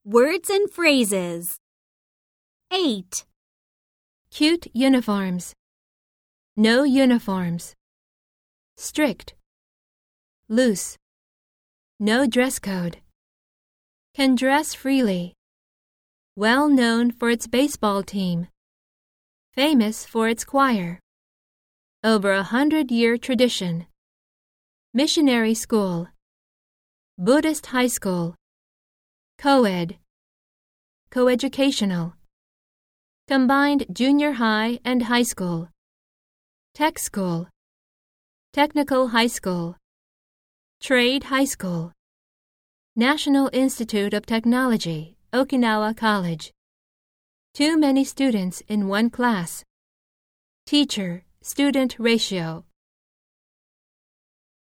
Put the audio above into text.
Words and phrases. 8. Cute uniforms. No uniforms. Strict. Loose. No dress code. Can dress freely. Well known for its baseball team. Famous for its choir. Over 100-year tradition. Missionary school. Buddhist high school. Co-ed. Coeducational. Combined junior high and high school. Tech school. Technical high school. Trade high school. National Institute of Technology, Okinawa College. Too many students in one class. Teacher-student ratio.